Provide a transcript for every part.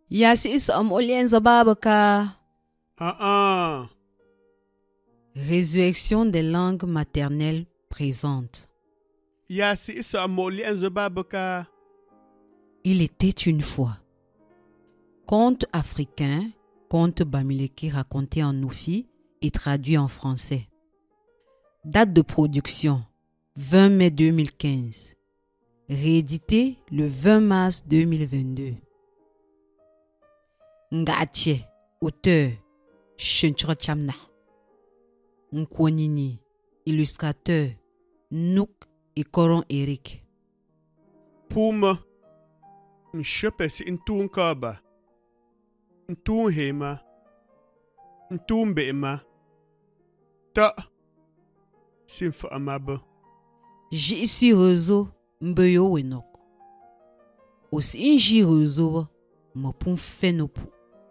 Yasis Olienza Babaka. Résurrection des langues maternelles présentes. Yasis Olienza Babaka. Il était une fois. Conte africain, conte Bamileke raconté en Noufi et traduit en français. Date de production 20 mai 2015. Réédité le 20 mars 2022. Ngache, auteur, Chenchro Chamna. Nkwonini, illustrateur, Nouk et Coron Eric. Puma, Mshepes Intun Kaba, Intun Hema, Intun Bema, Ta, Simfa Amaba. J'y rezo mbeyo wenok. Aussi inji rezo mo pun fenopu.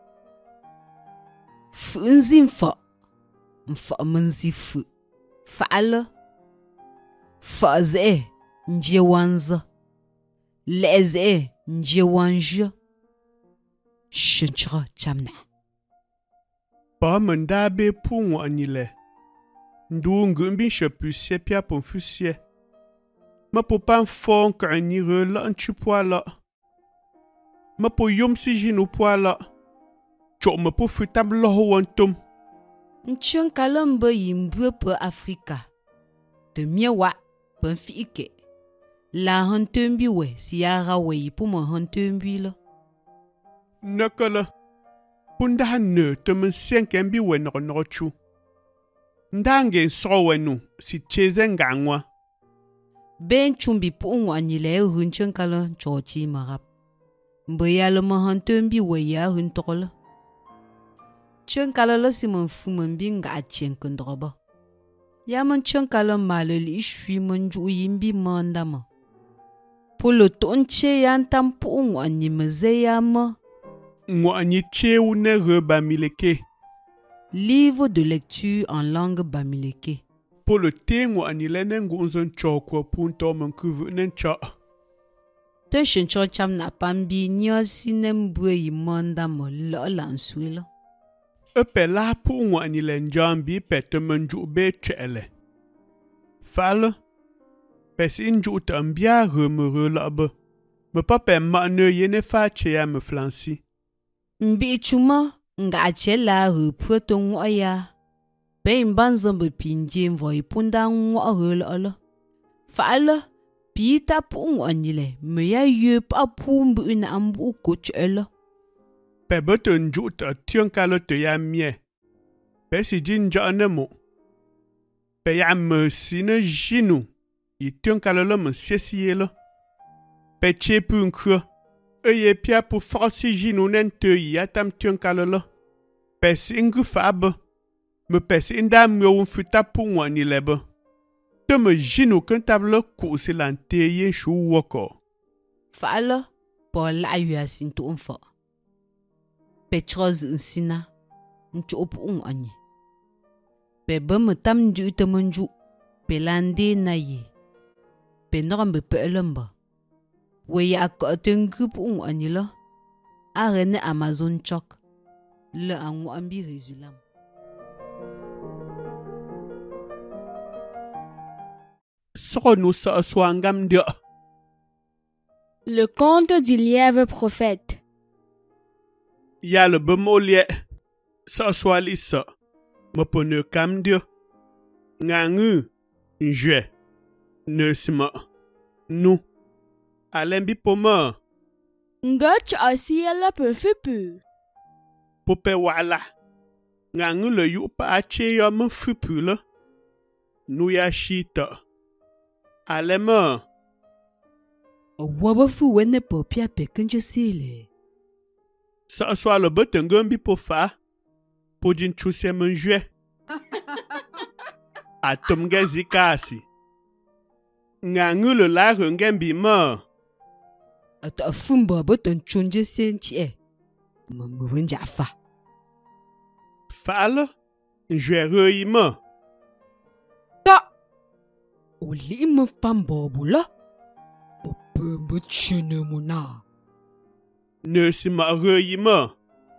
Funzi mfa menzi fu. Fa'ala. Fa'ze nje wanza. Leze nje wanja. Chenchra chamna. Ba mendabe pun anile. Ndu ngumbi shepu sepia pon fusie. Ma po pan fon ka ni re la nchu poala. Ma po yom si jinu poala. Chok ma po futam loho wantum. Nchun kalambe yimbwe pe Afrika. De miewa pen fiike. La hantumbi we siara we yipu mo hantumbi lo. Nakala. Punda hanne te men senken bi we no chu. Ndange so we nu si cheze ngangwa. Ben chumbi pu anile hunchun kalon chochi marap. Mboyalo mo hantumbi we ya hun tokolo. Chun kalolo si mon fu mon binga achien kondroba. Ya mon chun kalon maloli ishui mon ju yimbi mandama. Polo tonche yantam pu animeze yama. Ngwani cheou ne re Bamileke. Livre de lecture en langue Bamileke. Pour le thé ngwani lene ngunzon chokwa punto mon kuvu nencha. Te chencho cham na pambi nyosi nembwe yimonda mo lo lanswilo. Epe la pu ngwani len jambi pete menju be chele. Fal. Pes inju tambia remere labe. Me pape ma ne yene fa chea me flansi. Mbi chuma nga chela reputo ngoya. Be mbanzo be pinje mvo ipunda ngo lo. Fal. Pita pu ngwanile me ya ye pa pu mbu na ambu kochelo. Pe beton jut a tion kalote ya mie. Pe si jinja nemo. Pe ya me sine jinu. I tion kalolo me siesielo. Pe che pu nkro. Eye pia pu forsi jinu nen te ya tam tion kalolo. Pe si ngu fab. Me pe si inda myo unfuta pu ngwanile be. Te me jinu kun tablo ku silante ye shu woko. Fala, po la yu asinto unfo. Petros nsina, ncho opu anyi. Pe bame tam du temenju, pe lande na ye. Pe norambe pe elemba. We ya kotengu pu anyi lo. Arene Amazon chok. Le angu ambi résulam. Le conte du lièvre prophète. Ya le bemolie. Sa swali sa. Me pone kam dio. Ngangu. Njwe. Nesma. Nou. Alembi poma. Ngach asiela pefupu. Pope wala. Ngangu le yu pa ache ya me fupu le. Nou ya shita. Alema. Wabafu wene po pia pekenje sile. Sa swa le betengembi po fa. Po jin chuse menjwe. Atomge zikasi. Ngangu le la rengembi ma. Ata fumba beten chonje sentie. Mwenja fa. Fal. Njwe rei ma. Ta. Oli me fambobu la. Ope me chene mona. Ne si ma re yi me.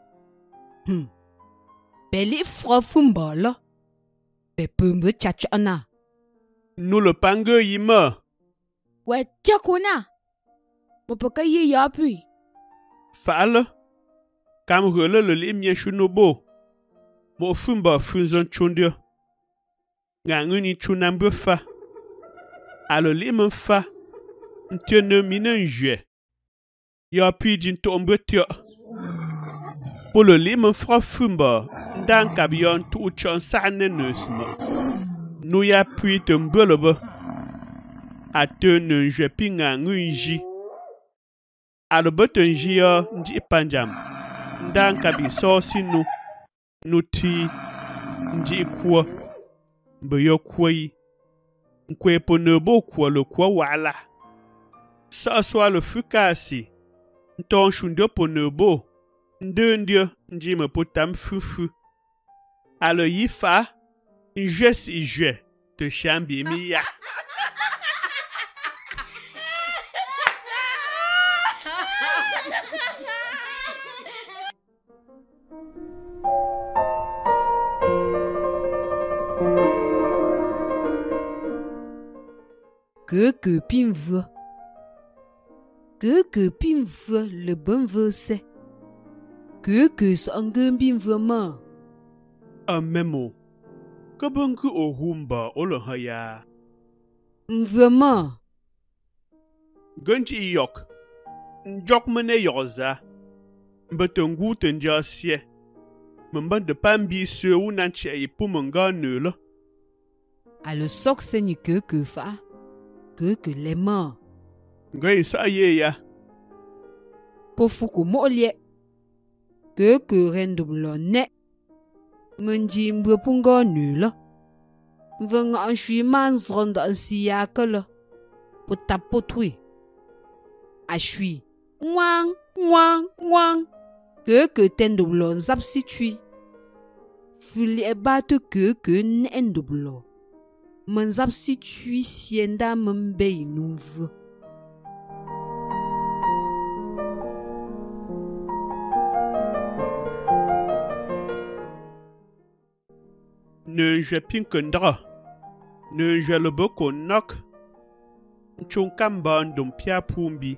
Beli fro fumba lo. Be pumbe chachana. Nous le pangue yi me. Ouais, tiens, kona. Mon papa y a puis. Fa'ale. Kam rele le li mien chunobo. Mo fumba funzon chundio. Nga nguni chunambe fa. Ale li me fa. Ntiene minen jwe. Ya puis din tombe tio. Pour le li me fra fumba. Ndan kabion tu chan sa neneusme. Nou ya puis te mbelebe. A te ne jwe pi nga ngunji. A le beten jia nji panjam. Ndan kabi so si nou. Nou ti nji kwa. Mbe yo kwa yi. Nkwe po nebo kwa le kwa wala. Sa soa le fukasi. Nton shundo po nebo. Ndendio nji me po tam fufu. A le yi fa. Njwe si jwe. Te chambi mi ya. Que pimve. Que pimve le bon verset. Que s'engum pimve ma. A memo. Kabungu o humba o le haya. Vraiment. Gunji yok. Njok mene yoza. Mbetengu tenja sie. Mben de pambi se ou nanche yi pou menga neule. A le soc saigne que fa. Que les mains. Gay sa ye ya. Pour fouko molie. Que rende blonne. Menji mbe punga nula. Veng an shui man zronde an siya que le. Pour tapotui. A shui. Wang, wang, wang. Que ten de blon zap situi. Fuli e bat que n'en de blon. Men zap situi sienda membe nouve. Ne jwe pinkendra. Ne jwe le boko nok. Nchon kamba ndom pia pumbi.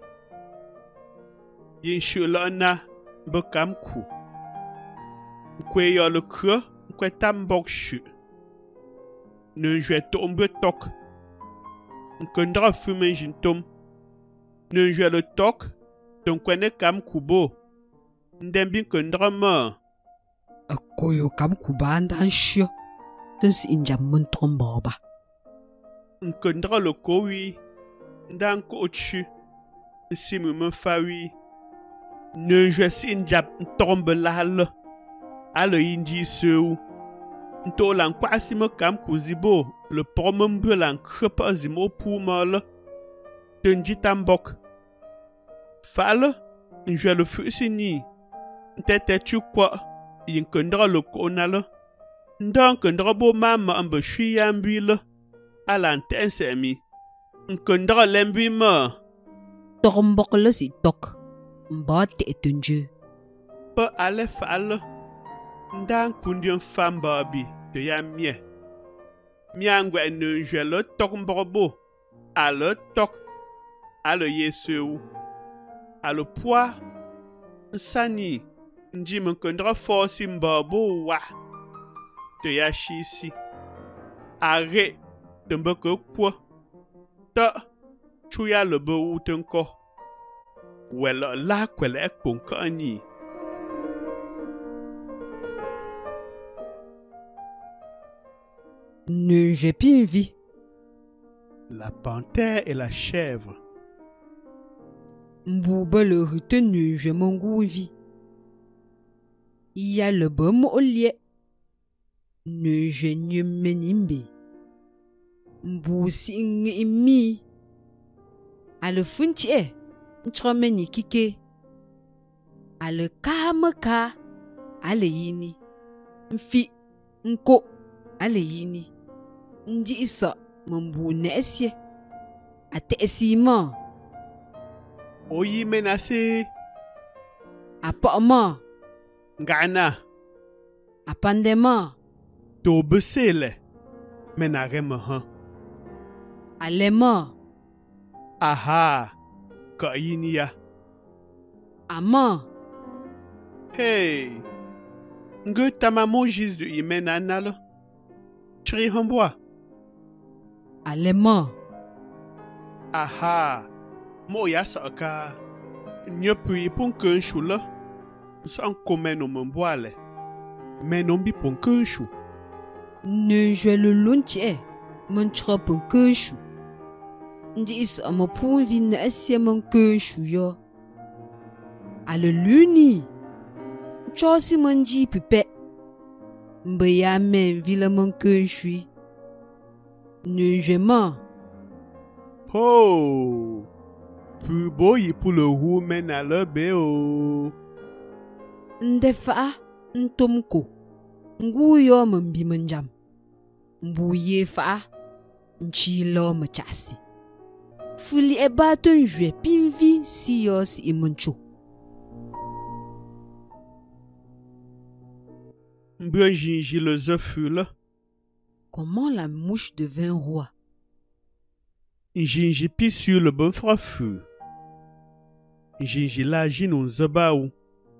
Yin shula na bekam ku. Nkwe yo le kre, nkwe tambok shu. Ne jwe tombe tok. Nkendra fume jintom. Ne jwe le tok. Ton kwene kam kubo. Ndembi nkendra ma. A koyo kam kubanda an shio. Dus inja muntron boba. Nkendra le kowi. Ndan ko chu. Simu me fawi. Ne jwe sin jap ntombe lal. Ale inji seu. Nto lan kwa sime kam kuzibo. Le promembe lan krepa zimo pou mal. Tenji tambok. Fal. Njwe le fusini. Ntete chukwa. Yin kendra le konal. Ndan kendra bo mama ambe shui yambile. Alan tensemi. Nkendra lembi ma. Tombok le si tok. Mbate etunju. Pe ale fal. Ndan kundion famba bi te ya mie. Miangwe ne jwe le tok mborbo. Ale tok. Ale yeseu. Ale poa. Nsani. Nji mkendra forsi mborbo wa. Te ya shisi. Are. Tembe ke kwa. Ta. Chuya lebe ou tenko. Wela la kwele konkani. Ne j'ai pas vie. La panthère et la chèvre. Mbouba le retenu, je m'en vie. Il y a le bon au lieu. Ne je ne menimbe. Mbousi imi. A le funtie. Ntromeni kike. A le kamaka. A le yini. Mfi. Nko. A le yini. Ndi isa. Mbou nesye. A te esima. Oyi menase. Apama. Ngana. Apandema. To besele. Menareme han. Alema. Aha. Ka yinia. Ama. Hey. Nge tamamo jizu imena nalo. Chri hamboa. Alema. Aha. Mo ya saka. Nyopui pon kenshu la. San komen o mboale. Menombi pon kenshu. Ne jwe le lunche. Mon trop un kenshu. Ndi is ama pon vi na asie mon kenshu yo. Ale luni. Chosi manji pipe. Mbe ya men vila mon kenshu. Ne jwe ma. Oh. Pu boyi pour le roux mena le beo. Ndefa ntomko. Ngu yo mbi manjam. Mbu ye fa. Nchi lo machasi. Fuli eba ton jwe pinvi si yo si imuncho. Mbue jinji le zefule. Comment la mouche devint roi? Jinji pis sur le bon frofu. Jinji la jinon zebaou.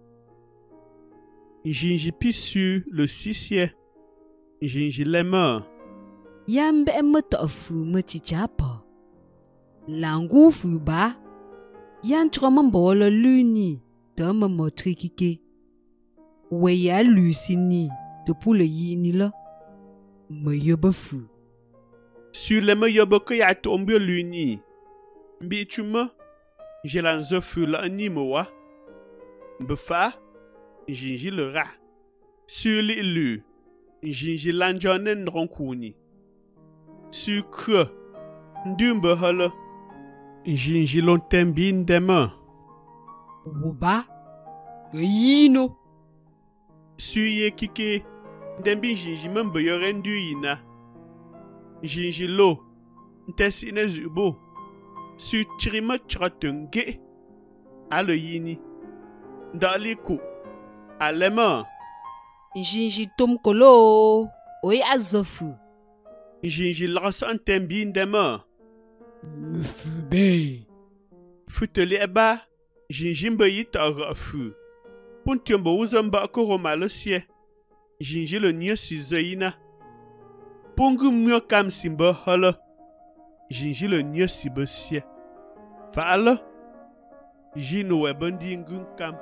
Jinji pis sur le sissier. Jinji lema. Yambe metofu metichapa. Langu fu ba. Yan tromambolo luni. Dama motrikike. Weya lucini. De poule yini la. Me yoba fu. Sur le me yoboke ya tombé luni. Mbi tu me. J'ai la zefule animoa. Mbefa. Jinji le rat. Sur l'élu. Jinji lanjonen ronkouni. Sur que. Ndumbe hole. Jinji lontembin demain. Woba. Gayino. Sur ye kike. Ndembi jinji membe yorendu yina. Jinji lo. Ntesine zubo. Sur trima trotenge. Ale yini. Daliku. Alema. Jinji tom kolo. Oye azofu. Jinji lasa ntembin demain. Mfube. Futeli eba. Jinji mbe yita rafu. Puntiombo uzamba koroma le sie. Jinji le nye si zeina. Pongu myo kam simba hala. Jinji le nye si besie. Fala. Jino webendi ngun kam.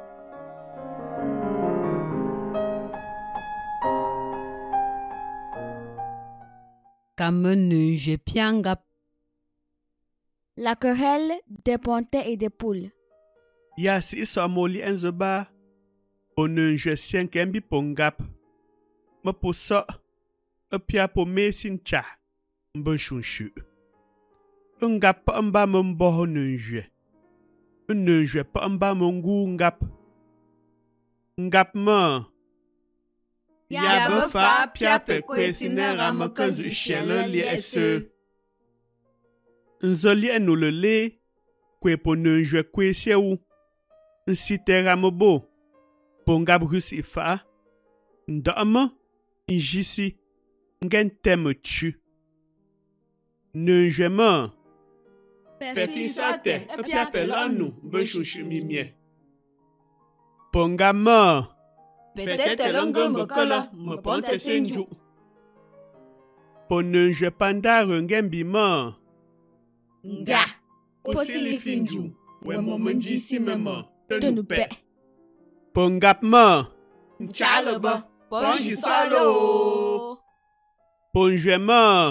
Comme ne je piangap. La querelle des pontets et des poules. Ya si isa moli enzeba. Onen je sien kembi pongap. Ma posa. Pia po mesin cha. Mbon shunshu. Ngap pa mba mbo nenjwe. Nenjwe pa mba mongu ngap. Ngap ma. Ya befa pia pe kwesine ramakazu shele li ese. Nzoli enu le le. Kwe po nenjwe kwesye ou. Nsite rambo. Pongap rus ifa. Ndama. Njisi. Ngen teme tu. Nenjwe ma. Pefi sate. Pia pe lanu. Benshushu mimie. Pongama. Peut-être l'ongo mokola. Me ponte senju. Ponenjwe panda rengembi ma. Nga. Posili finju. We momenji si mema. Tenupe. Pongap ma. Chalaba. Ponji salo. Ponjwe ma.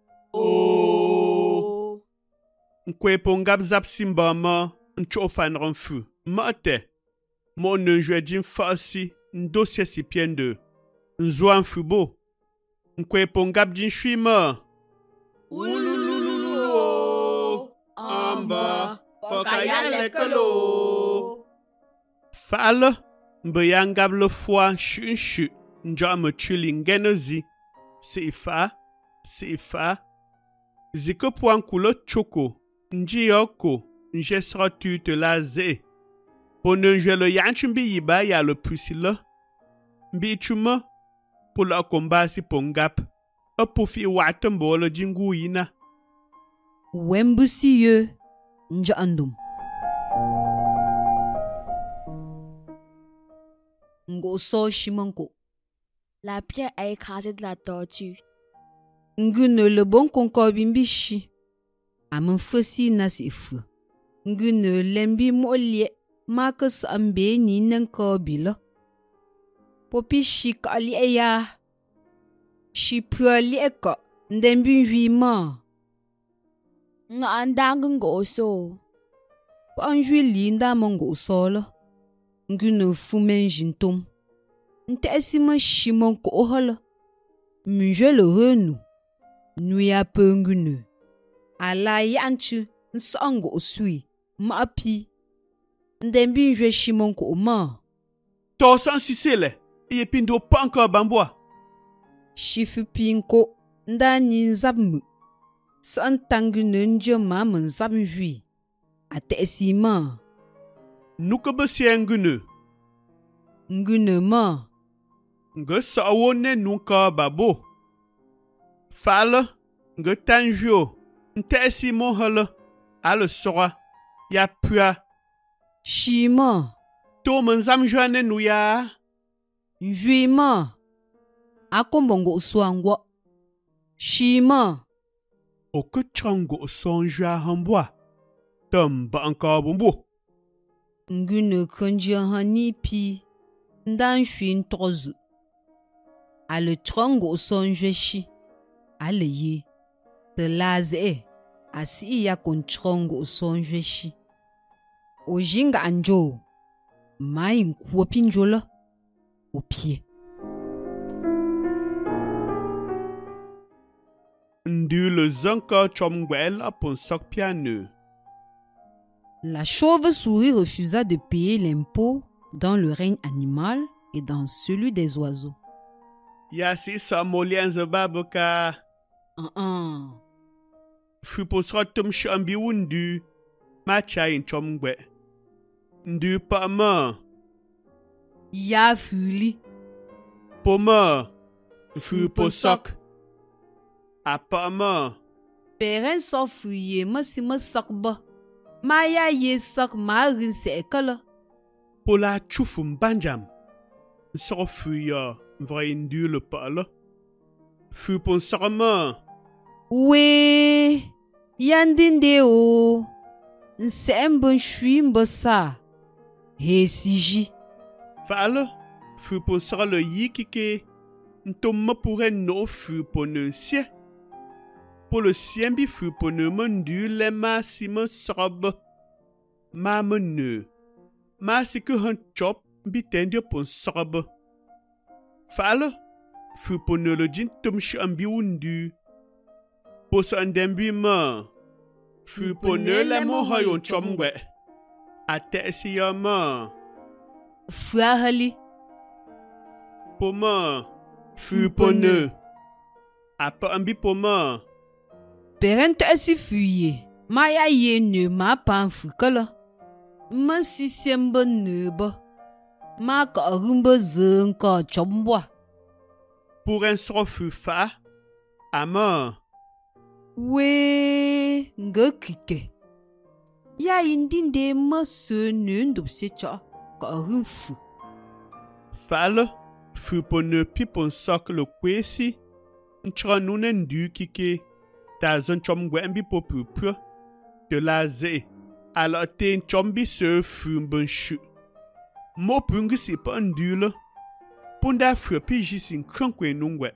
Oh. Nkwe pongap zap simba ma. Nchofan renfu. Mate. Mon nenjwe jim fasi. Ndosye si piende. Nzwan fubo. Nkwe pongap jin shui ma. Ulululu. Amba. Pokayale kalo. Fale. Mbeyangab le foie shu. Njame chuli ngenozi. Sifa. Ziko poan kulo choko. Njiyoko. Njesra tu te la ze. Pour ne jouer le yanchu mbi yiba ya le pusila. Mbi chuma. Pour le combat si pongap. Pour fi watembo le jingu ina. Wembusi ye nja andum. Ngo so shimanko. La pierre a écrasé de la tortue. Ngune le bon concord bimbishi. Amen fosi nasi fu. Ngune lembi molie. Marcus ambe ni nanko bilo. Popi shi ka li ya. Shi pua li eko. Ndembi vima. Nga andang ngo so. Panjui linda mongo solo. Ngune fumen jintom. Nte sima shimon ko ohola. Muje le renu. Nuya pengune. Ala yanchu nsango osui. Ma api. Ndembi nje shimon ko ma. To san sisele. Iye pindo pa encore bamboa. Shifu pinko. Nda ninzabmu. San tangune nje ma menzabmjui. Ate sima. Nuka besi ngune. Ngune ma. Nge sawone nuka babo. Fala. Nge tanjo. Nte simo hala. Ale sora. Ya pua. Shima. To menzam joane nuya. Njui-ma. Akombongo swangwa. Shima. Oke chango sonjua hamboa. Tamba encore bombo. Ngune konjia hani pi. Ndan shuin tozu. Ale trongo sonjwe shi. Ale ye. Te laze. Asi ya kon trongo sonjwe shi. Ojinga anjo. Mai nkuwa pinjola. Au pied. Ndu le zanka chomgwel apon sok piano. La chauve-souris refusa de payer l'impôt dans le règne animal et dans celui des oiseaux. Ya si sa molien zababoka. Fupo srotum shambi wundu. Macha in chomgwe. Ndu pa ma. Ya fuli. Poma. Fupo sok. Apama. Peren so fuye masi ma sok ba. Ma ya ye sok ma rin se ekala. Pola chufum banjam. So fuya. Vray ndu le pala. Fupon sarama. We. Yandinde o. Nse mbon shui mbosa. He siji. Fala. Fupon sara le yikike. Ntoma pourrait no fupon un sie. Pour le sien bi fupon ne mendu le ma si me sob. Ma menu. Ma si que un chop bi tendio pon sob. Fala. Fupon ne le jin tum shambi wundu. Pour son dembi ma. Fupon ne le mo hayon chomwe. Ate si ya ma. Fuahali. Poma. Fupone. Apa ambi poma. Peren te si fuye. Ma ya ye ne ma pan fukala. Ma si semba ne ba. Ma ka rumba zeng ka chomwa. Pour un sofu fa. Ama. We nga kike. Ya indinde ma se ne ndop se cha. Ka rumfu. Fala. Fupone pipon sok le kwesi. Ntranunen du kike. Ta zon chomgwe ambi popu. De la ze. Alors ten chombi se fumben chu. Mo pungi si pa ndule. Punda fupi jisin krankwe nungwe.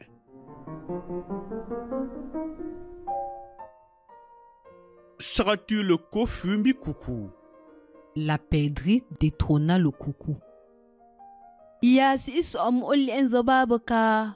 Seras-tu le kofumbi coucou? La perdrix détrôna le coucou. Ya si som olien zababaka.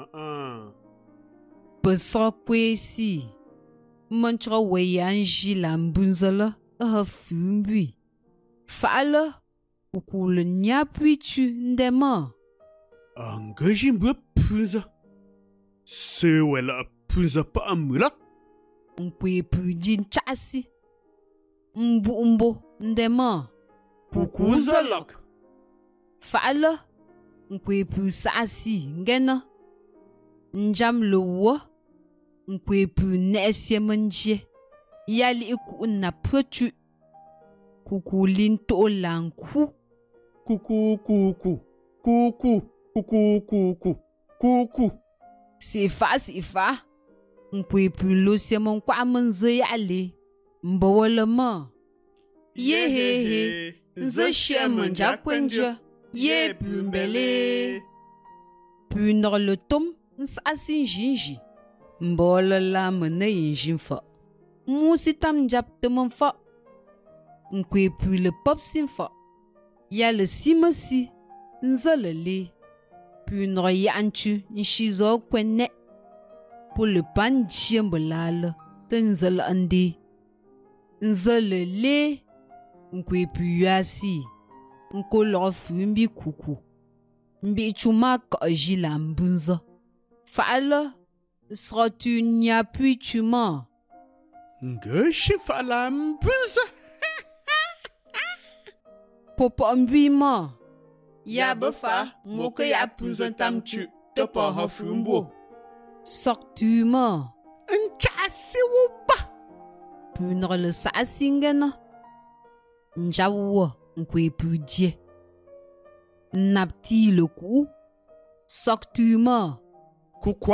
Pesra kwesi. Mantra weyanji lambunzala. Fumbi. Fala. Coucou le nyapui tu ndema. Engagez-moi punza. C'est où la punza pa amula? Mpwe pujin chasi. Mbu ndema. Kuku zolok. Fa'ala nkwe pu sa'asi ngena. Njam le wo nkwe pu ne'esie menje. Yali iku na pwetu. Kuku linto lanku. Kuku kuku. Kuku kuku kuku. Kuku. Sifa. Nkwe pu lo sie mon kwa menze yali. Mbawala ma. Ye he. Nze shie menja kwenje. Ye pu mbele. Pu nor le tom. Nsasi njinji. Mbawala la mene yinjin fa. Musi tam jap te mon fa. Nkwe pu le pop sin fa. Ya le simasi. Nze le le. Pu nor yanchu. Nshizo kwenne. Pour le pan djiembolale. Te nze le ande. Nze le le. Nkwe pu yasi. Nko lo fu mbi kuku. Mbi chuma ka jila mbunza. Fa'ala. Seras-tu nya puis tu mens? Nge shifa la mbuza. Popo mbi ma. Ya befa. Moke ya punzan tamchu. Te pa ha fumbo. Sors-tu ma? Nchasi wuba. Punre le sa'asingena. Njawa nkwe pu die. Napti le coup. Sors-tu ma? Kukwa.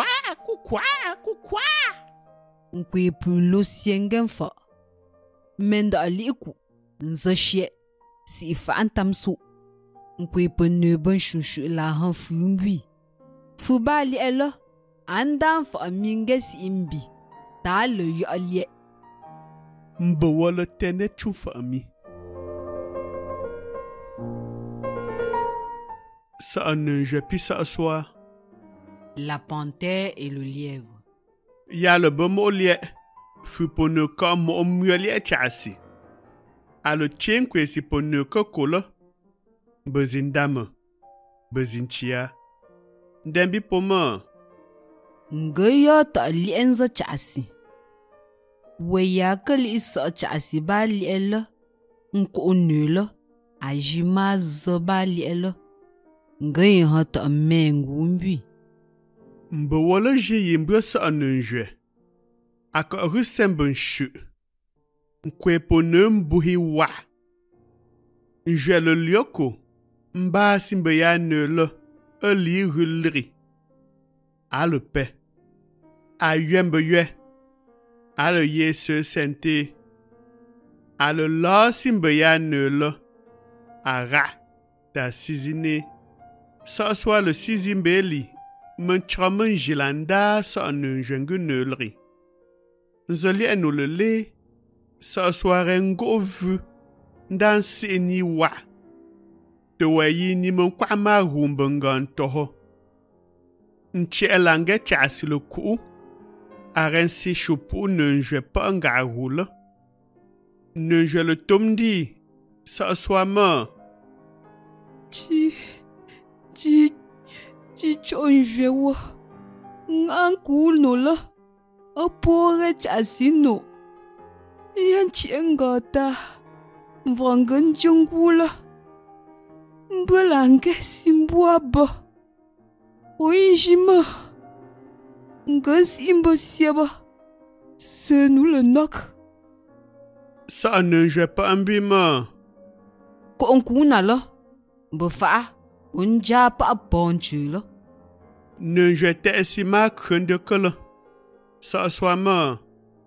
Nkwe pu lo siengen fa. Menda aliku. Nze shie. Si fa antamso. Nkwe pu neuben shushu la han fumbi. Fuba li ela. Andan fa minge si imbi. Ta le yo alie. Mbawala tene chufa ami. Ça ne je puis s'asseoir. La panthère et le lièvre. Ya le bomo lie. Fu pone ka mo muelie chasi. A le tien kwe si pone ka kola. Bezindame. Bezinchia. Dembi poma. Ngaya ta li enza chasi. Weya ke li sa chasi ba li ela. Nko nula. Ajima zaba li ela. Ngaya ha ta mengumbi. Mbawala je yimbe sa anunjwe. Aka rusemben shu. Nkwe pone mbuhi wa. Njwe le lioko. Mba simbe ya nula. Eli hulri. A le pe. A yembe yue. A le yesu sente. A le la simbe ya nula. A ra. Ta sizine. Sa soit le sizimbeli. Menchamen jilanda sa anunjwengu nulri. Nzoli enu le le. Sa soit ngo vu. Ndan si ni wa. Te wayi ni mon kwa ma rumbengan toho. Nche elange chasi le ku. Arensi chupu nenjwe pa nga roule. Nenjwe le tomdi. Sa soit ma. Chi chonjwe wa. Ngankul no la. Apore chasi no. Yan chiengata. Mvangen jungula. Mbelange simbuaba. Oinjima. Nga simba siaba. Se nous le nok. Sa nenjwe pa ambima. Ko onkuna la. Mbefa. Unja pa bonchu la. Nenjwe te esima krende kele. Sa soit ma.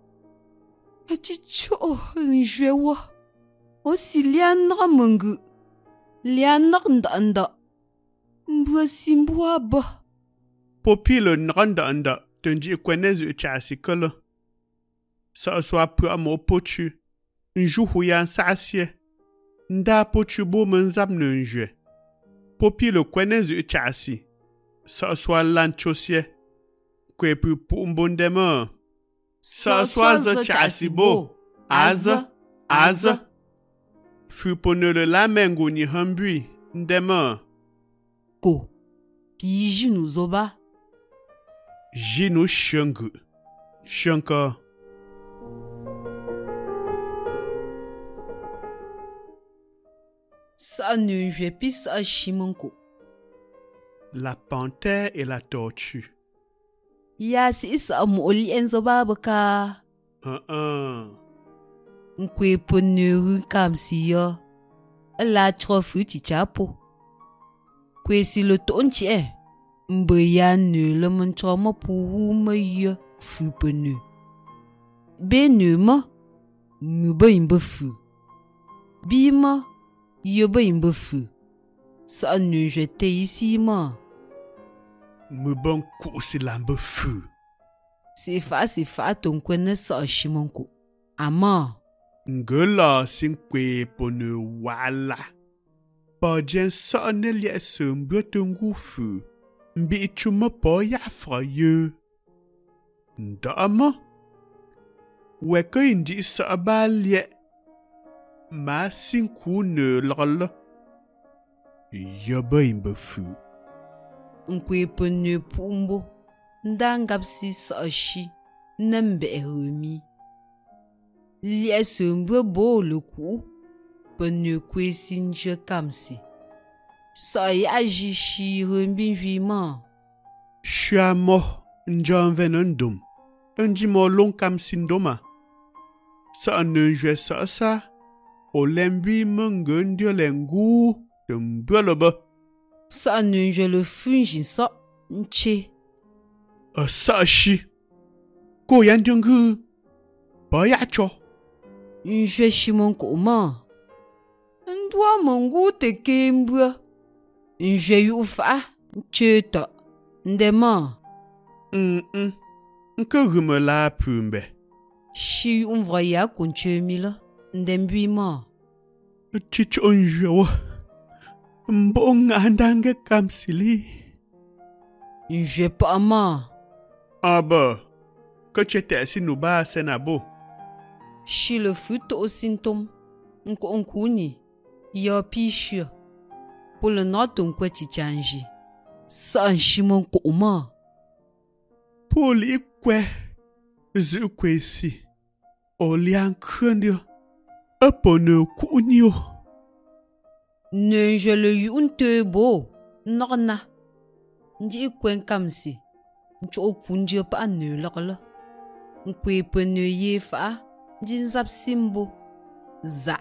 Chicho njwe wa. Osi lianra mungu. Lianak ndanda. Mbwa simbuaba. Popi le nranda tenji kwenezu chasi kele. Sa soit pu amo pochu. Njuhu yan sasye. Nda pochu bo menzab nenjwe. Popi le kwenezu chasi. Sa soit lanchosye. Kwe pu pumbondema. Sa soit ze chasi bo. Aza. Fu pone le lamengu ni hambui. Ndema. Ko. Pi jinu zoba. Jinu shengu. Shenka. Sa ne je pi sa shimonko. La panthère et la tortue. Ya si sa moli enzo babaka. Nkwe ponu kam si yo. La trofu ti chapo. Kwe si le tonchi mbe ya ne le montre mo pou me yo fu ponu. Be ne mo. Mbe imbe fu. Bi mo. Yo be imbe fu. Sa ne jete ici mo. Me bon coup c'est l'ambe fu. C'est fa ton kwene sa shimonko. Ama. Ngela sinkwe pone wala. Pa jen sa ne lie se mbe tungu fu. Mbi chuma pa ya fra ye. Ndama. Weka indi sa ba lie. Ma sinku ne lala. Yoba imbe fu. Nkwe pone pumbo. Ndangap si sa shi. Nembe remi. Lie se mbe bo le ku. Pone kwe sinje kamsi. Sa ya jishi rembi vima. Shua mo njan venendum. Nji mo long kam sindoma. Sa ne jwe sa. O lembi mengendio lengu. Mboloba. Sa ne je le fungi sa. Nche. Sa shi. Ko yan dungu. Ba ya cho. Nje shimonko ma. Ndwa mongu te kembra. Nje yu fa. Ncheta. Ndema. Nke rume la pumbe. Shi yu mvraya konche mila. Ndembui ma. Chicho njewa. Mbo ngandange kamsili. Nje pa ma. Aba. Que chete si nuba senabo. Shi le fut au symptôme. Nko onkuni. Ya pishu. Pour le noton kwa chichanji. Sa shimon ko ma. Pour li kwe. Zu kwe si. O liang krendio. Apone kunyo. Ne je le yun te bo. Norna. Nji kwen kamsi. Ncho kunje pa ne lokla. Nkwe pene ye fa. Nji nzap simbo. Za.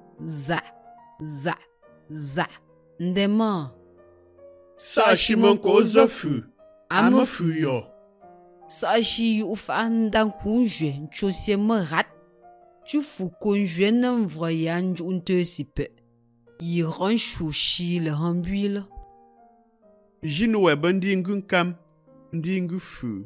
Ndema. Sa shimonko zofu. Ame fu yo. Sa shi yu fa ndan kunje. Ncho se me rat. Tu fous conjouer n'en voyant un te sipe. Y ranchou chi le hambuile. Jinwe bandingun kam. Ndingu fu.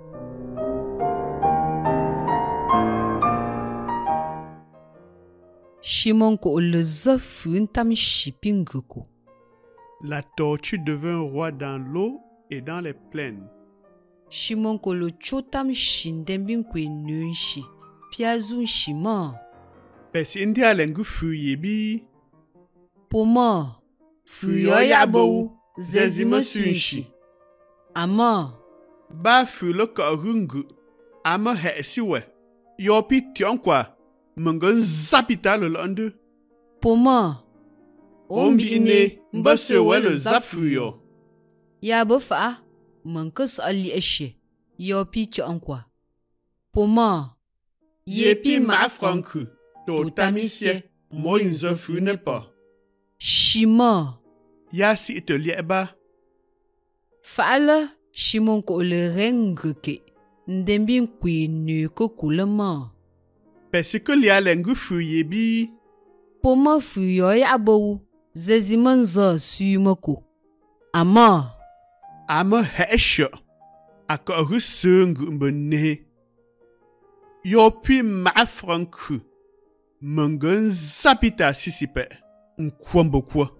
Shimonko le zofu ntam shipinguko. La tortue devint roi dans l'eau et dans les plaines. Shimonko le chotam shindembinkwe nunshi. Piazun shima. Pes indi alengu fu yebi. Poma. Fuyo yabo. Zezime sunshi. Ama. Ba fu le korungu. Ama hesiwe. Yopi tionkwa. Mengen zapita le lande. Poma. Ombi ine. Mbasewe le zafuyo. Yabo fa. Menges ali eshe. Yopi tionkwa. Poma. Yepi ma franku. To tamisye. Mo inzo fu ne pa. Shima. Ya si ite lieba. Fala. Shimonko le rengeke. Ndembin kwe nu kokulema. Pesike li alengu fu yebi. Poma fu yo yabo. Zezimanza sumoko. Ama. Ama hesho. Aka rusungu mbene. Yopi ma franku. Mengen zapita sisipe. Nkwambo kwa.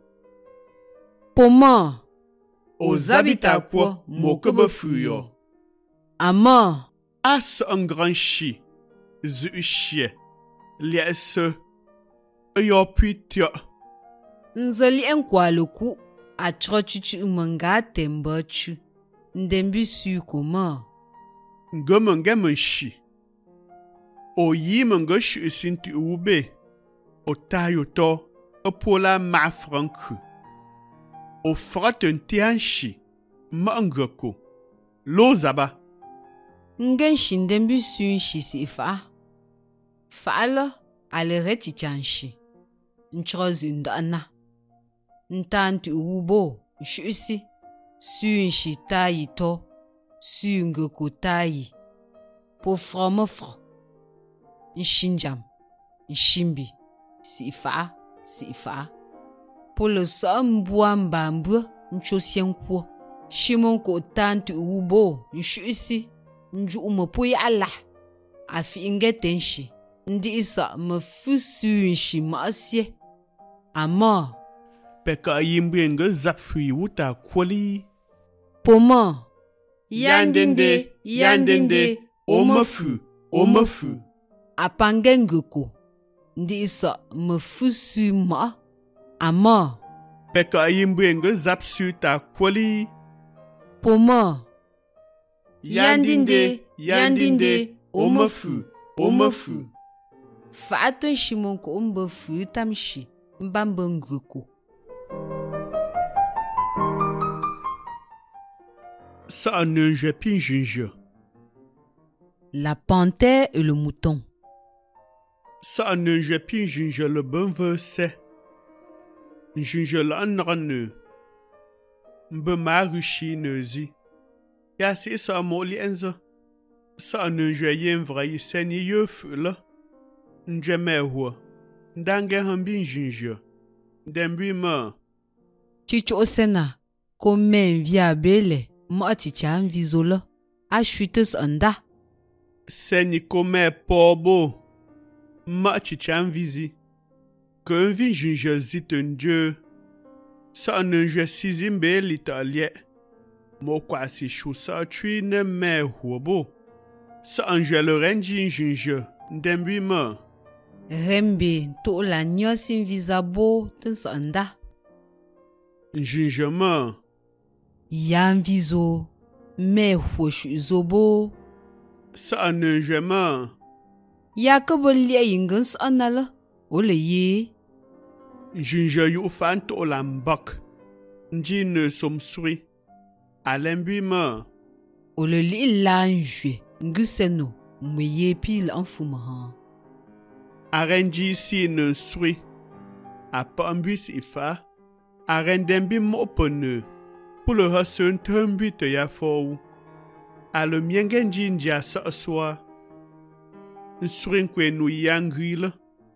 Poma. O zabita kwa mokebe fuyo. Ama. As un grand chi. Zu chie. Liese. Yopi tio. Nzoli enkwa loku. Atrochuchu umanga tembachu. Ndembi su koma. Ngomenge chi. O yi menge shi sinti ube. O tayo to. Pola ma franku. O frat un tianshi. Mangoko. Lozaba. Ngen shindembi sun shi si fa. Fa lo ale reti chanshi. Nchozi ndana. Ntantu ubo shusi. Sun shi tayi to. Sun ngoko tayi. Po fromofro. Nshinjam. Nshimbi. Si fa. Po le so mbua mbambu. Nchosienkwo. Shimon ko tantu ubo nshusi. Nju umopo ya Allah. Afi ingetenshi. Ndi isa mefusu nshi maasye. Ama. Peka yimbenge zapfui wuta kwali. Poma. Yandende. Omefu. Apangengeko. Ndi isa mefusu ma. Ama. Peka yimbenge zapsu ta kwali. Poma. Yandinde. Omefu. Fa'atun shimon ko umbefu tamshi. Mbambengeko. Ça ne je pinjinje. La panthère et le mouton. Ça ne je pinjinje le bon verset. Jinje l'anrane. Mbe marushi nezi. Ya si sa moli enzo. Ça ne je yen vrai seni yefula. Nje mewa. Ndange hambin jinje. Dembi ma. Chicho osena. Komen via bele. Mo ticha vizola. A chuteuse anda. Seni kome pobo. Ma ticha vizi. Que vin jinje ziten Dieu. Ça ne je sizimbe l'italien. Mo kwa si chou sa tui ne me huobo. Ça en je le renji jinje. Dembi ma. Rembe to la nyosin visabo tens anda. Jinje ma. Yan vizo. Me hoshu zobo. Ça ne je ma. Yakobo lia ingens anala. Ole ye. Jinje yu fan to lambak. Nji ne somsui. Alembi ma. Ole li lanjwe. Ngiseno. Mwye pil anfumahan. Arenji si ne sui. A pambus ifa. Arendembi mopone. Pour le hasun tumbi te ya fou. A le miengenji nja sa soa. Nsurinkwe nu yangrile.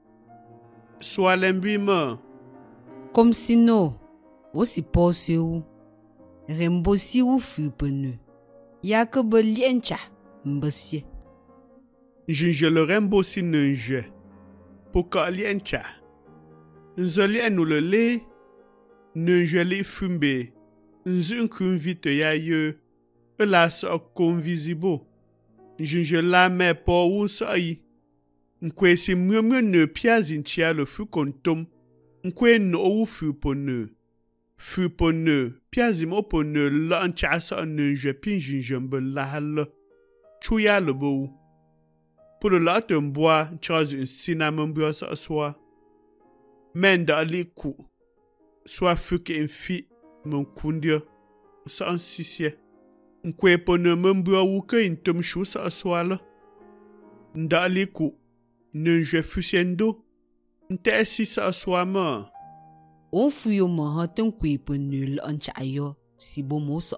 Soa lembi ma. Comme sino. Osi pose ou. Rembo si ou fupene. Yakobo liencha. Mbosye. Jinje le rembo si nenje. Poka liencha. Nzolien ou le le. Nenje li fumbe. Nzunkun vite ya ye. La so convisibo. Jinje la me po ou sa yi. Nkwe si mwe ne piazin tia le fu kontom. Nkwe no ou fupone. Fupone. Piazim opone la ncha sa nenje pin jinje mbe la hal. Chouya le beau. Pour le latte bois, Charles un cinnamon bois sa soie. Men da li ku. Soit fuke en fi, mon kundia. Sa en sisye. Nkwe pone mon bois ou que in tom chou sa soie la. Nda li ku. Nenje fusiendo. Nte si sa soie ma. On fuyo mahanten kwepe nul anchayo. Si bo mosa.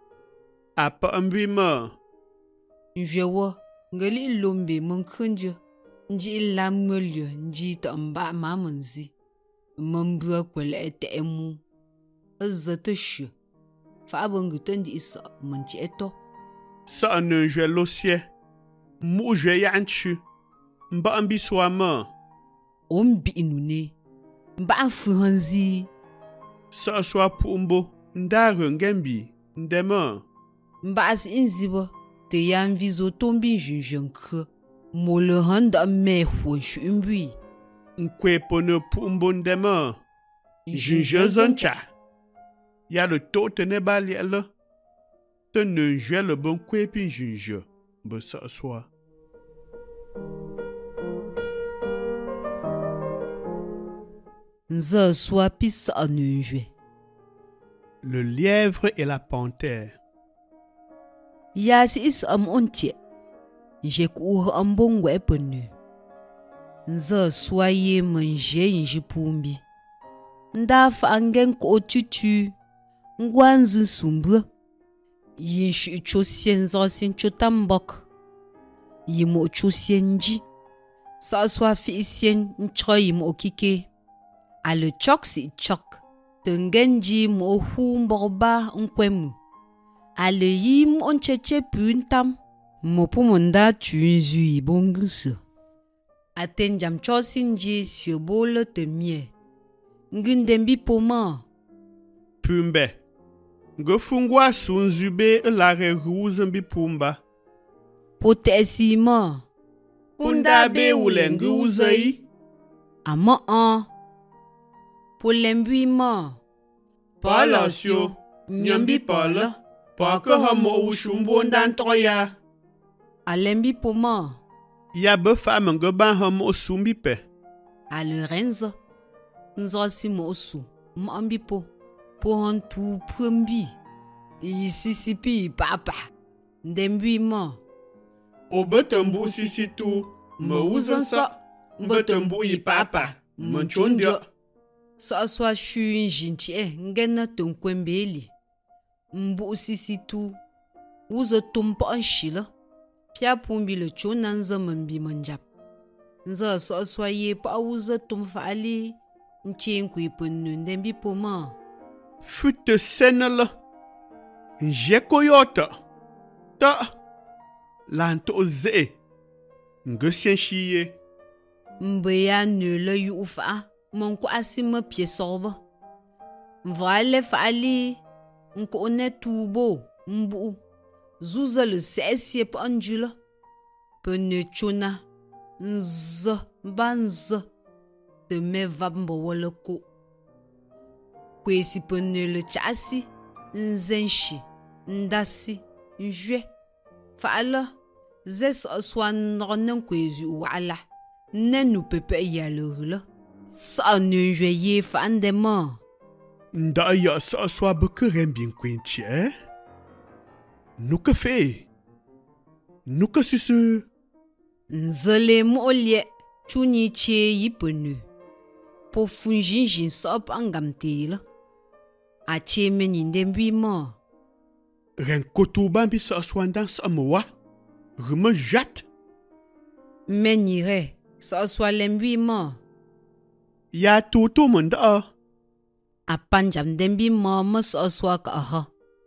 Apa ambi ma. Njewa. Ngali lombe mkunjo. Nji lam mulyo. Nji ta mba mamanzi. Mambua kwele ete emu. Azate shi. Fa abangutan di isa. Manchi eto. Sa nenje losye. Mou je yanchu. Mba ambi soa ma. Ombi inune. Mba afuhanzi. Sa soa pumbo. Ndare ngembi. Ndema. Mba as inziba. Te yan vizo tombi junjenke. Mo le handa me hwenshu imbui. Nkwe pone pumbo ndema. Jinje zancha. Ya le to tene bali ele. Te nenje le bon kwe pin jinje. Mbe sa soa. Nze soit pis a nunjwe. Le lièvre et la panthère. Yasi is ontie. J'ai couru en bon wepenu. Nze soit ye manje njipumbi. Ndaf angen ko tutu. Ngwanzu sumbu. Yin shu chosien zosin chotambok. Yimo chosienji. Sa soit fisien nchoy mo kike. A le chok si chok. Tengenji mo hu mborba nkwemu. A le yim on cheche puntam. Mo pumonda tunzu yi bongusu. Aten jam chosinji siobolo te mie. Ngundembi poma. Pumbe. Ngefungwa sunzube lare ruzembi pumba. Potesima. Punda be wulengi uzei. Ama an. Polembui ma. Palasio. Nyambi pala. Paka hamo ushumbo ndantoya. Alembi poma. Ya be femme ngeba hamo sumbi pe. Ale renzo. Nzo si mo su. Mambi po. Po hantu prembi. Isisipi papa. Ndembui ma. Obetembu sisi tu. Me uzansa. Mbetembu yi papa. Menchondia. Sa swa shu njinchie ngena tonkwembeli. Mbu sisi tu. Uzo tumpa anshila. Pia pumbi le chona nza mambi manjap. Nza sa swa ye pa uzo tumfa ali. Nchen kwe penu ndembi poma. Fute senela. Njekoyota. Ta. Lanto ze. Ngesien shiye. Mbe ya nule yu ufa. Monko asima pie sorba. Mvale fa ali. Nko one tubo. Mbu. Zuza le sesye pa anjula. Pene chona. Nza. Banza. De me vabmbo wale ko. Kwesi pene le chasi. Nzenshi. Ndasi. Njwe. Fa'ala. Zes aswa nronen kwezu wala. Nenu pepe yalurula. Sa njwe ye fa'andema. Nda ya sa aswa bekeren bien kwenchi, eh? Nuka fe. Nuka susu. Nzele molie. Chuni che yipenu. Po funjinjin sop angamtela. A che menindembi ma. Ren koto bambi sa aswa ndan sa amowa. Reme jat. Menire. Sa swa lembi ma. Ya toto menda. A panjam dembi ma mas aswa ka aha.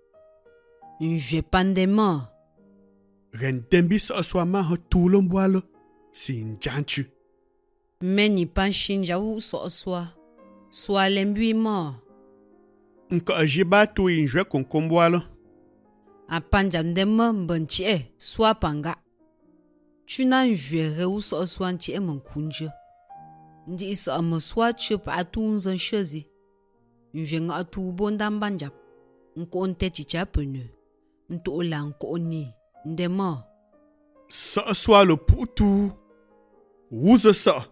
Njwe pandema. Ren dembi sa aswa ma ha tulon boalo. Si njanchu. Meni panshinja wu so aswa. Swa lembi ma. Nka ajiba tu injwe konkomboalo. A panjam dema mbanchie. Swa panga. Chuna njwe re wu so aswa nchie mkunje. Ndi isa amaswa chup atunzan shozi. Njwe nga atu bonda mbanjap. Nko onte chichapenu. Nto ola nko oni. Ndema. Sa aswa le putu. Wuza sa.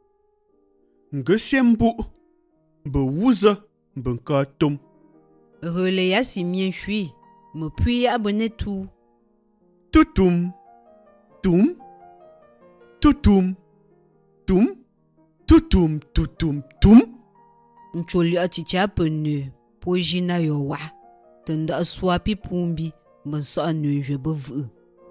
Ngesien mbu. Mbe wuza. Mbe nka tom. Rele ya si mien chui. Me puis abonne tout. Tutum. Tum. Tutum. Tum. Tutum. Tutum. Tum. Ncholi aticha penu. Pojina yowa. Tenda swapi pumbi. Mensa anu je bevu.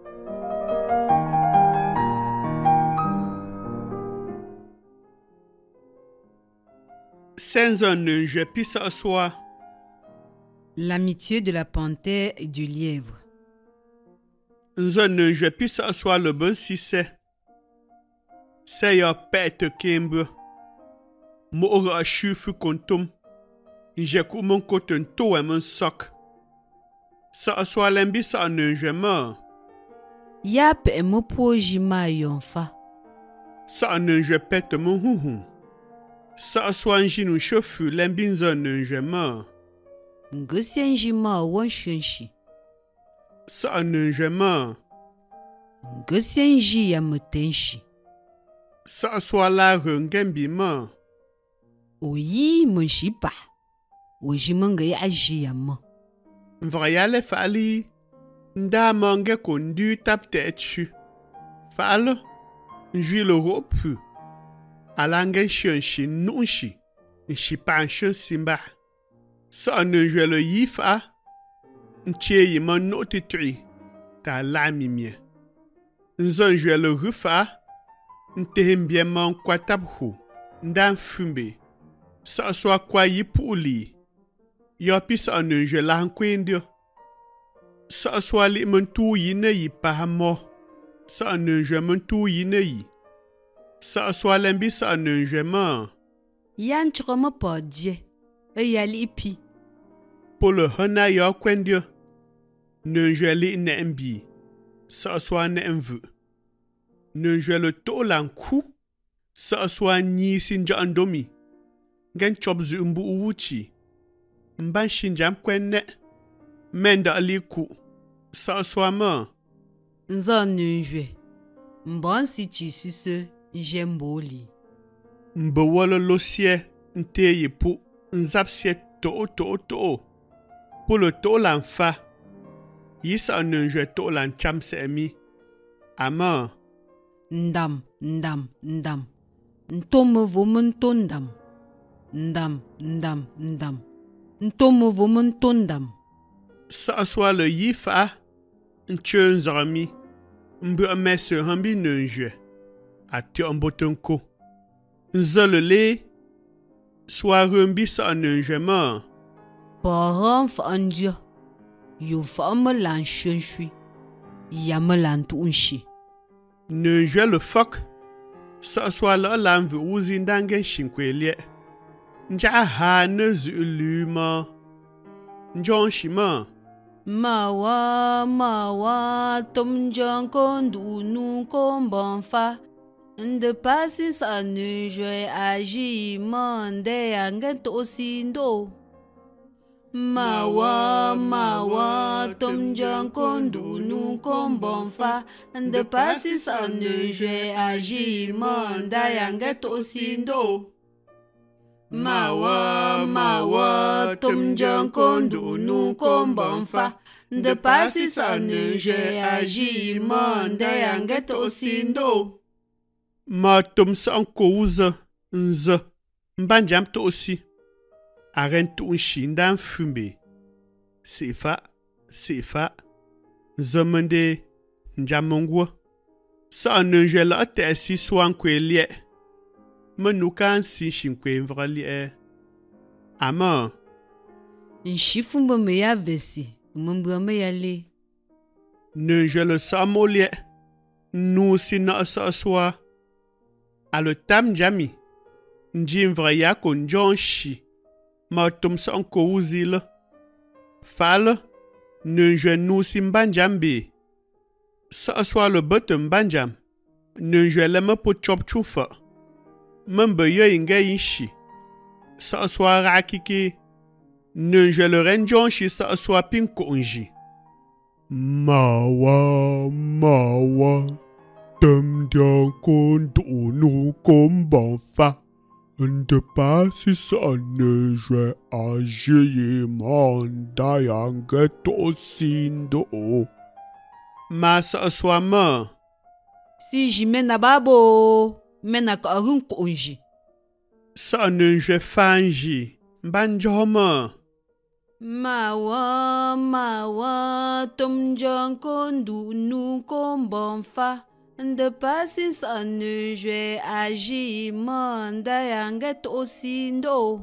Senza nunje pisa aswa. L'amitié de la panthère et du lièvre. Nza nunje pisa aswa le bon sise. Se ya pete kembe. Mo ora shufu kontum. Nje ku mon koten to e mon sok. Sa aswa lembi sa nunje ma. Yap e mo pojima yonfa. Sa nunje pete mon huhu. Sa aswa njinu shofu lembi nza nunje ma. Ngesienjima wanshenshi. Sa nunje ma. Ngesienji ya metenshi. Sa aswa la rengembi ma. O yi mun shi ba. O ji mun ga ya ji yamma. Vrayale fali nda mange kondu tap tetu. Falo njui le ropu. Alangen shi nunshi. Nshi pan simba. Sa ne jwe le yifa. Nche yi man noti tui. Ta la mimie. Nzon jwe le rufa. Ntehim bien man kwa tap hu. Ndan fumbe. Sa swa kwa yi puli. Yopi sa ne jwe la nkwendio. Sa swa li mentu yi ne yi pahamo. Sa ne jwe mentu yi ne yi. Sa swa lembi sa ne jwe man. Yan chokoma pa die. Ya li pi. Polo hana yo kwendio. Ne jwe li ne mbi. Sa swa ne mvu. Ne jwe le to lan ku. Sa swa nyi sinja andomi. Gen chop zu mbu uwuchi. Mban shinjam kwenne. Menda aliku. Sa swa man. Nzan nunjwe. Mban si chi suse njemboli. Mbewolo losie nte yi pu. Nzapsie to. Polo to lan fa. Yisa nunjwe to lan chamse emi. Ama. Ndam. Ntome vomen tondam. Ndam. Ntome vomen tondam. Sa swa le yifa. Nche nzami. Mbe amese hambi nunjwe. Ati ambotonko. Nzole le. Swa rumbi sa nunjwe man. Paran fa andia. Yo fa me lan shui. Ya me lan tunshi. Nunjwe le fok. Sa swa le lan vu uzi ndangen shinkwelie. Nja ha ne zu luma. Njon shima. Mawa, tom jan kondu nu komban fa. De pasi sa nu jwe aji mande angen to sindo. Mawa, tom jan kondu nu komban fa. De pasi sa nu jwe aji mande angen to sindo. Mawa, tom jan kondu nu komban fa. De pasi sa nu jwe aji mande angen to sindo. Ma tom sa anko uze. Nze. Mbanjam to osi. Aren to unshi ndan fumbe. Sefa. Nzemende. Njamongwa. Sa nunjwe la te si swan kwe liye. Menukan si shinkwe mvra liye. Ama. Nshifumbe me ya vesi. Mbwa me ya li. Nunjwe le sa mo liye. Nou si na sa swa. A le tam jami. Nji mvra ya ko njon shi. Ma tom sa anko uzi le. Fale. Nunjwe nou si mbanjambe. Sa swa le bote mbanjam. Nunjwe le me po chop chufa. Membe yo inge inshi. Sa swa rakike. Nunjwe le renjon shi sa swa pinko unji. Mawa. Tem dian kondu nu komban fa. De pasi sa nunjwe aji manda yange to sindo. Ma sa swa man. Si jimena babo. Mena ka arun konji. Sa nunjwe fanji. Banjoma. Mawa, tom jan kondu nu komban fa. De pasi sa nunjwe aji manda yange to sindo.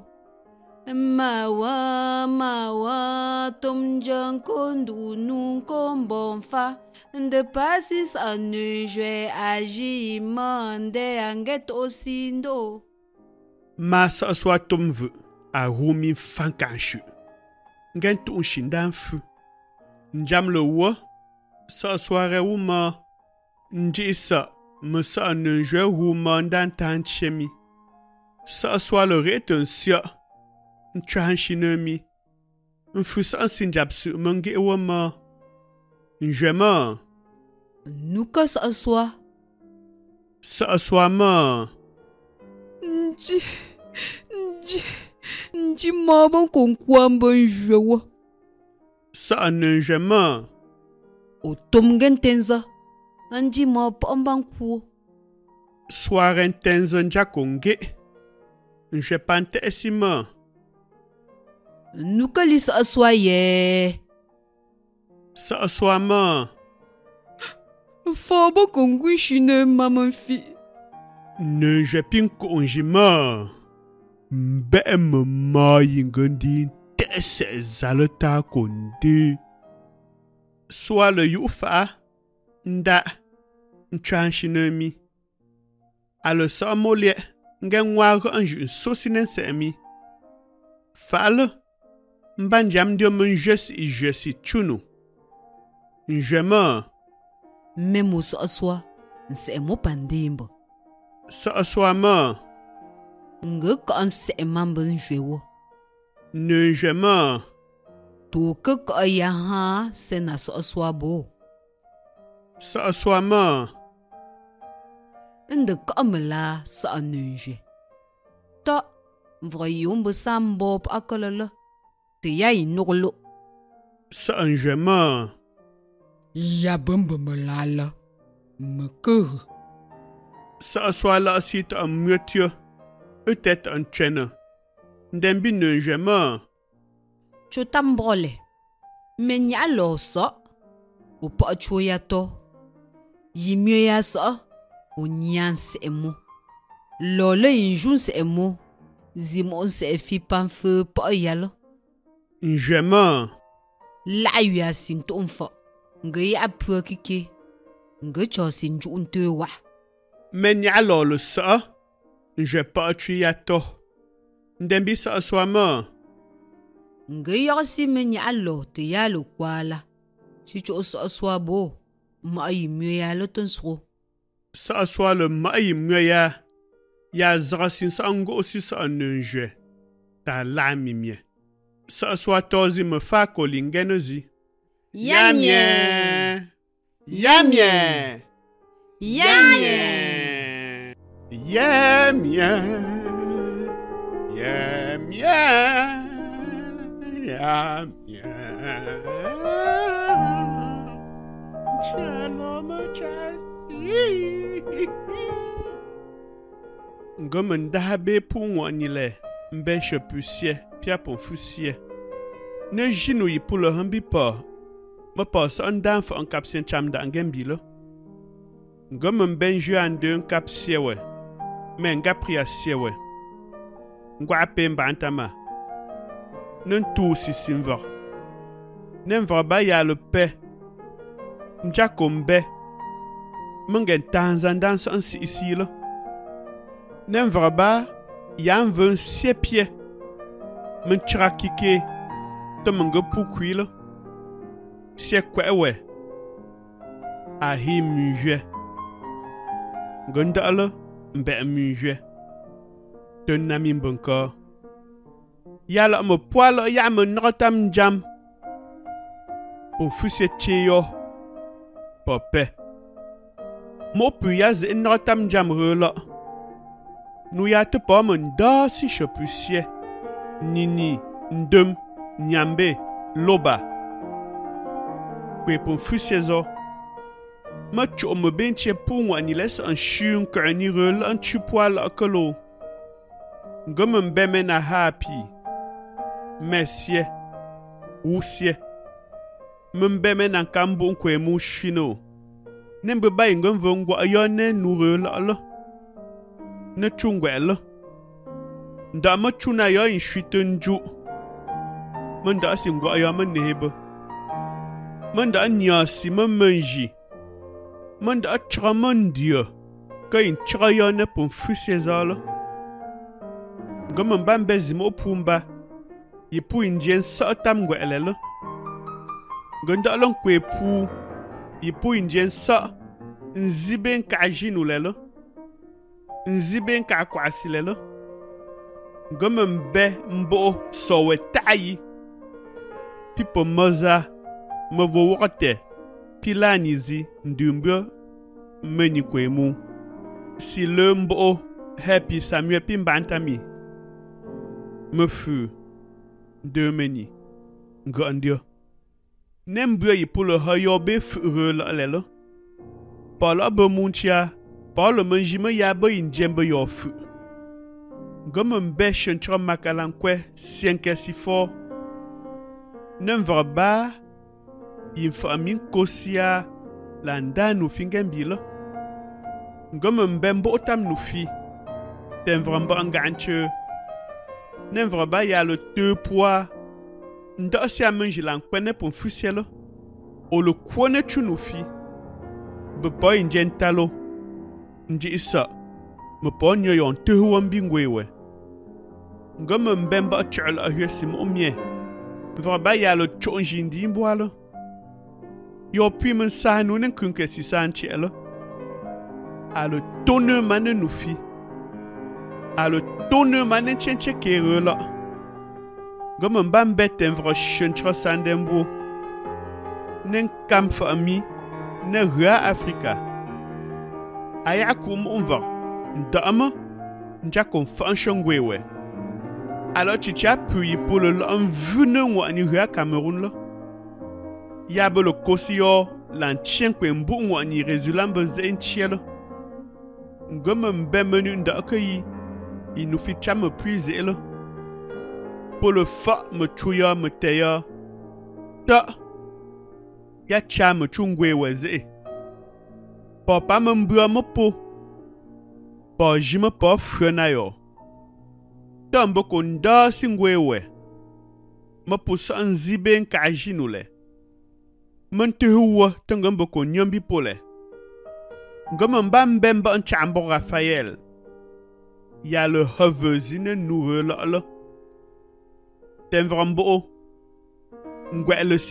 Mawa, tom jan kondu nu komban fa. De pasi sa nunjwe aji manda yange to sindo. Ma sa swa tomve. A rumi fankanshu. Ngen tu unshindan fu. Njam le wo. Sa soare uma. Nji sa. Me sa nunjwe uma ndan tan chemi. Sa swa le reten sia. Nchahan shinemi. Nfu sa sinjab su mange wama. Njwe ma. Nuka sa swa. Sa swa ma. Nji nji ma ban kon kwam ban jwewa. Sa nunjema. O tomgen tenza. Nji ma ban kwo. Soaren tenza njakonge. Nje pante esima. Nukali sa soye. Sa soama. Faba kongwishine maman fi. Nunje pinko onjima. Mbe mama yingandi tese zalata konde. Soa le yufa. Nda. Nchanshinomi. Ale sa molie. Ngen wago anju sosinen semi. Fale. Mbanjam dio menjesi chunu. Njema. Memo sa aswa. Nse mo pandimbo. Sa aswa ma. Nge ka nse mambo njwewo. Njema. To ke ka ya ha se na sa aswa bo. Sa aswa ma. Nde ka mela sa nunje. Ta vroyombo sambo pa akolala. Te ya inoglo. Sa njema. Ya bamba malala. Meke. Sa aswa la sit en muetje. Peut-être un chene. Ndembi njema. Chotambrole. Menya lo sa. O pa choya to. Yimye ya sa. O nyan se emo. Lole injun se emo. Zimon se fi panfe pa yalo. Njema. La ya sin tonfa. Nge ya pwe kike. Nge cho sin ju unte wa. Menya lo le sa. Je pa triato. Ndembi sa aswa ma. Nge ya si menya lo te ya lo kwala. Si cho sa aswa bo. Ma yimye ya lo tonsro. Sa aswa le maï mwya. Ya zrasin sa ango aussi sa nunje. Ta la mimie. Sa aswa tozi me fa kolingenozi. Yamie. Yamie. Yamie. Yamie. Yamie. Yamie. Shalom Ngomen dahabe pour wanile. Mben chepusie. Pia pon fusie. Ne jinu yi pour le hambi pa. Me pas un dan fa un kapsien cham da ngembilo. Ngomen ben ju an de un kapsie we. Men nga pria sie we. Ngwa pe mbantama. Nen tu si simva. Nen va ba ya le pe. Njakombe. Mengen tanzan dan san si ici là. Nen va ba yan ven sie pie. Men trakike. Te menga pukui là. Sie kwewe. Ahi muje. Gondala mbe muje. Ten nami mbonka. Yala me poil ya me notam jam. Pour fusie tio. Pope. Mo pu ya ze notam jam rela. Nu ya te pa men da si chepusie. Nini, ndum, nyambe, loba. Kwe pour fusie zo. Ma cho me benche pour moi ni laisse un chien qu'un irel un chupoil à colo. Gomme beme na happy. Messie. Woussie. Mbeme na kambon kwe mou chino. Nembe ba ingom vongwa ayone nourel ala. Ne chungwel. Nda ma chuna ya in chitenju. Manda singwa ayama nebe. Manda nyasi ma manji. Manda tramandia. Ka in trayane pon fusezala. Gomme mbambe zimo pumba. Yipu indien sa tamgwe elele. Gonda lon kwe pu. Yipu indien sa. Nziben ka jinu lele. Nziben ka kwasi lele. Gomme mbe mbo sowe tayi. Pipo moza. Mvo wote. Pilanizi ndumbyo meni kwemu. Si le mbo happy Samuel pimbantami. me fu de meni ngandio nem bua yi pour le hayo be fu la lelo pa la be muntia pa le menjime ya be injembe yo fu ngam be shentra makalankwe sienke si fo nem vraba infa min kosia landa nu fingembilo ngam mbembo tam nu fi ten vramba nganche nem vraba ya le 2 poids nda si amenji lankwe pour fusielo o le kwone chunu fi be boy njentalo nji isa me po nyo yon tehu wambingwewe ngam mbemba chal ahyesim omie vraba ya le chonji ndimboalo yo puis men sa nu nen kunke si sanchelo a le tonne manen nu fi a le tonne manen chenche kerela ngam mbambe ten vro shentra sandembo nen kam fami ne ria afrika aya kum onva ndama njakom fanshongwewe alors tu as pu pour le envenu wa ni ria Cameroun là ya be le kosio l'antien kwembu wa ni résulam bezen chielo ngam mbe menu nda akayi il nous fit cham puiser là pour le fa me tuya me teya ta ya cham chungwe weze papa mbua mopo pa jima pa frenayo tambo konda singwewe mopo sanzibe nkajinule mentehuwa tangambo konyambi pole ngam mbamba nchambo Raphaël ya le havezine nourela tenvrambo ngwe le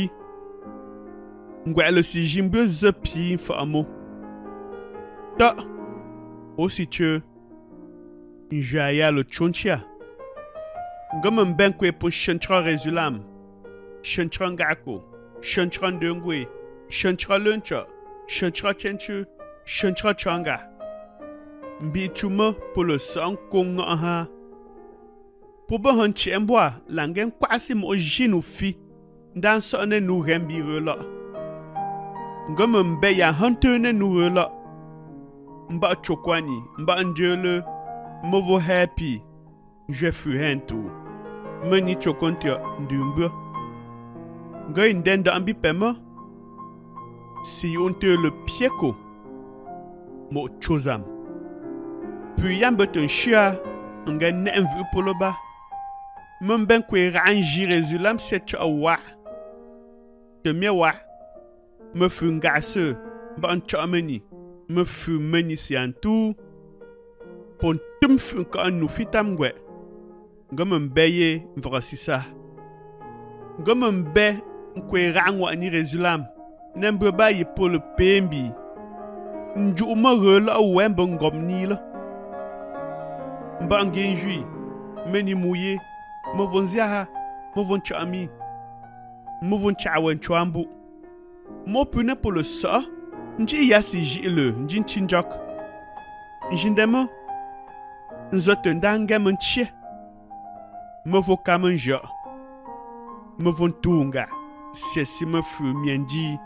siji mbe zapi famo ta aussi tu njaya le chonchia ngam mbenkwe pour chantra résulam chantra ngako chantra ndengwe chantra luncha chantra chenchu chantra changa mbi chuma pour le sang kong aha pour ben hanchi emboa langen kwasi mo jinu fi dan sonne nu rembi rela ngam mbe ya hantene nu rela mba chokwani mba njele movo happy je fus hentu mani chokontia ndumba ngai ndenda ambi pema si on te le pieko mo chozam puis yambeton chia ngai nenvu poloba memben kwe ranji résulam set wa de miewa me fungase ban chameni me fu meni siantu pon tum fu ka nu fitam gwe ngam mbeye vrasisa ngam mbe kwe rangwa ni résulam nembe ba yi pol pembi nju ma rela wembe ngomni la mbangin jui meni mouye mo vonzia mo von chami mo von chawen chwambu mo pune pour le sa nji yasi jile nji chinjak njindemo nzotendanga menchie mo vo kamanja mo von tunga si me fu mienji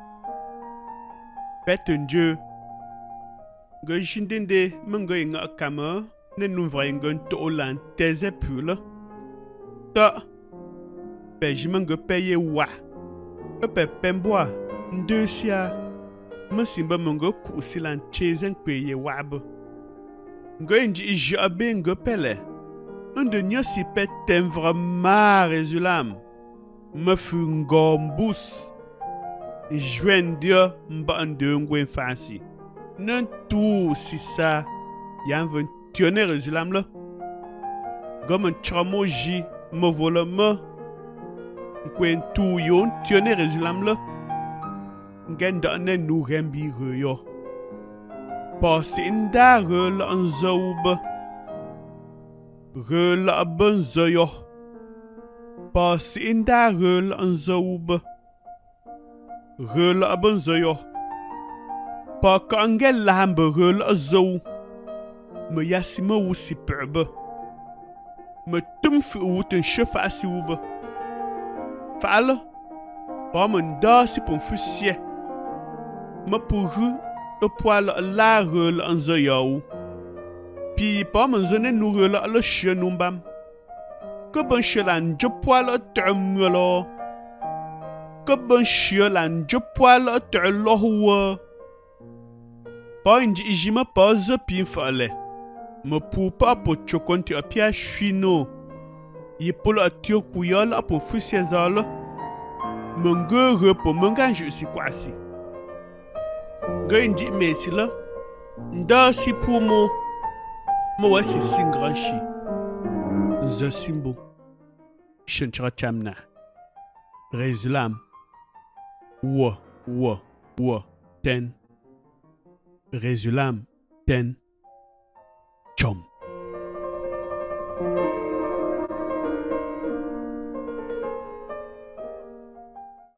petenje go jindende mengo inga kama ne nous voyons to lan teze pula ta pejimanga paye wa pe pemboa ndesia masimba mengo kusilan chezen paye wab ngonji jabe ngo pele inde nyosi petem vraiment résulam me fungombus jwendia mba ndengwe fasi nan tout si ça yan ven tionner résulam là gomen chamoji me volama kwen tout yon tionner résulam là ngenda ne nu rembi yo pasinda rel anzoub rel abanzoyo pasinda rel anzoub rel abanzoyo pa kangel lambe rel azou me yasima wusi pebe me tum fi wut een chefa si wube. Fa'ale, ba me nda si pon fu sie. Me puru e poale la rele en ze jou. Pi ba me zene nu rele le chie numbam. Que ben chie lan je poale t'amelo. Que ben chie lan je poale t'alowe. Ba inji ijima pa ze pin fa'ale. Me pu pa po chokonti a pia chino. Ye polo a tio kuyal a po fu sie zale. Mengere po menganju si kwasi. Ga inji mesi la. Nda si pou mo. Mo wasi singranshi. Nza simbo. Shenchra chamna. Rezulam. Wa. Ten. Rezulam. Ten. Chom.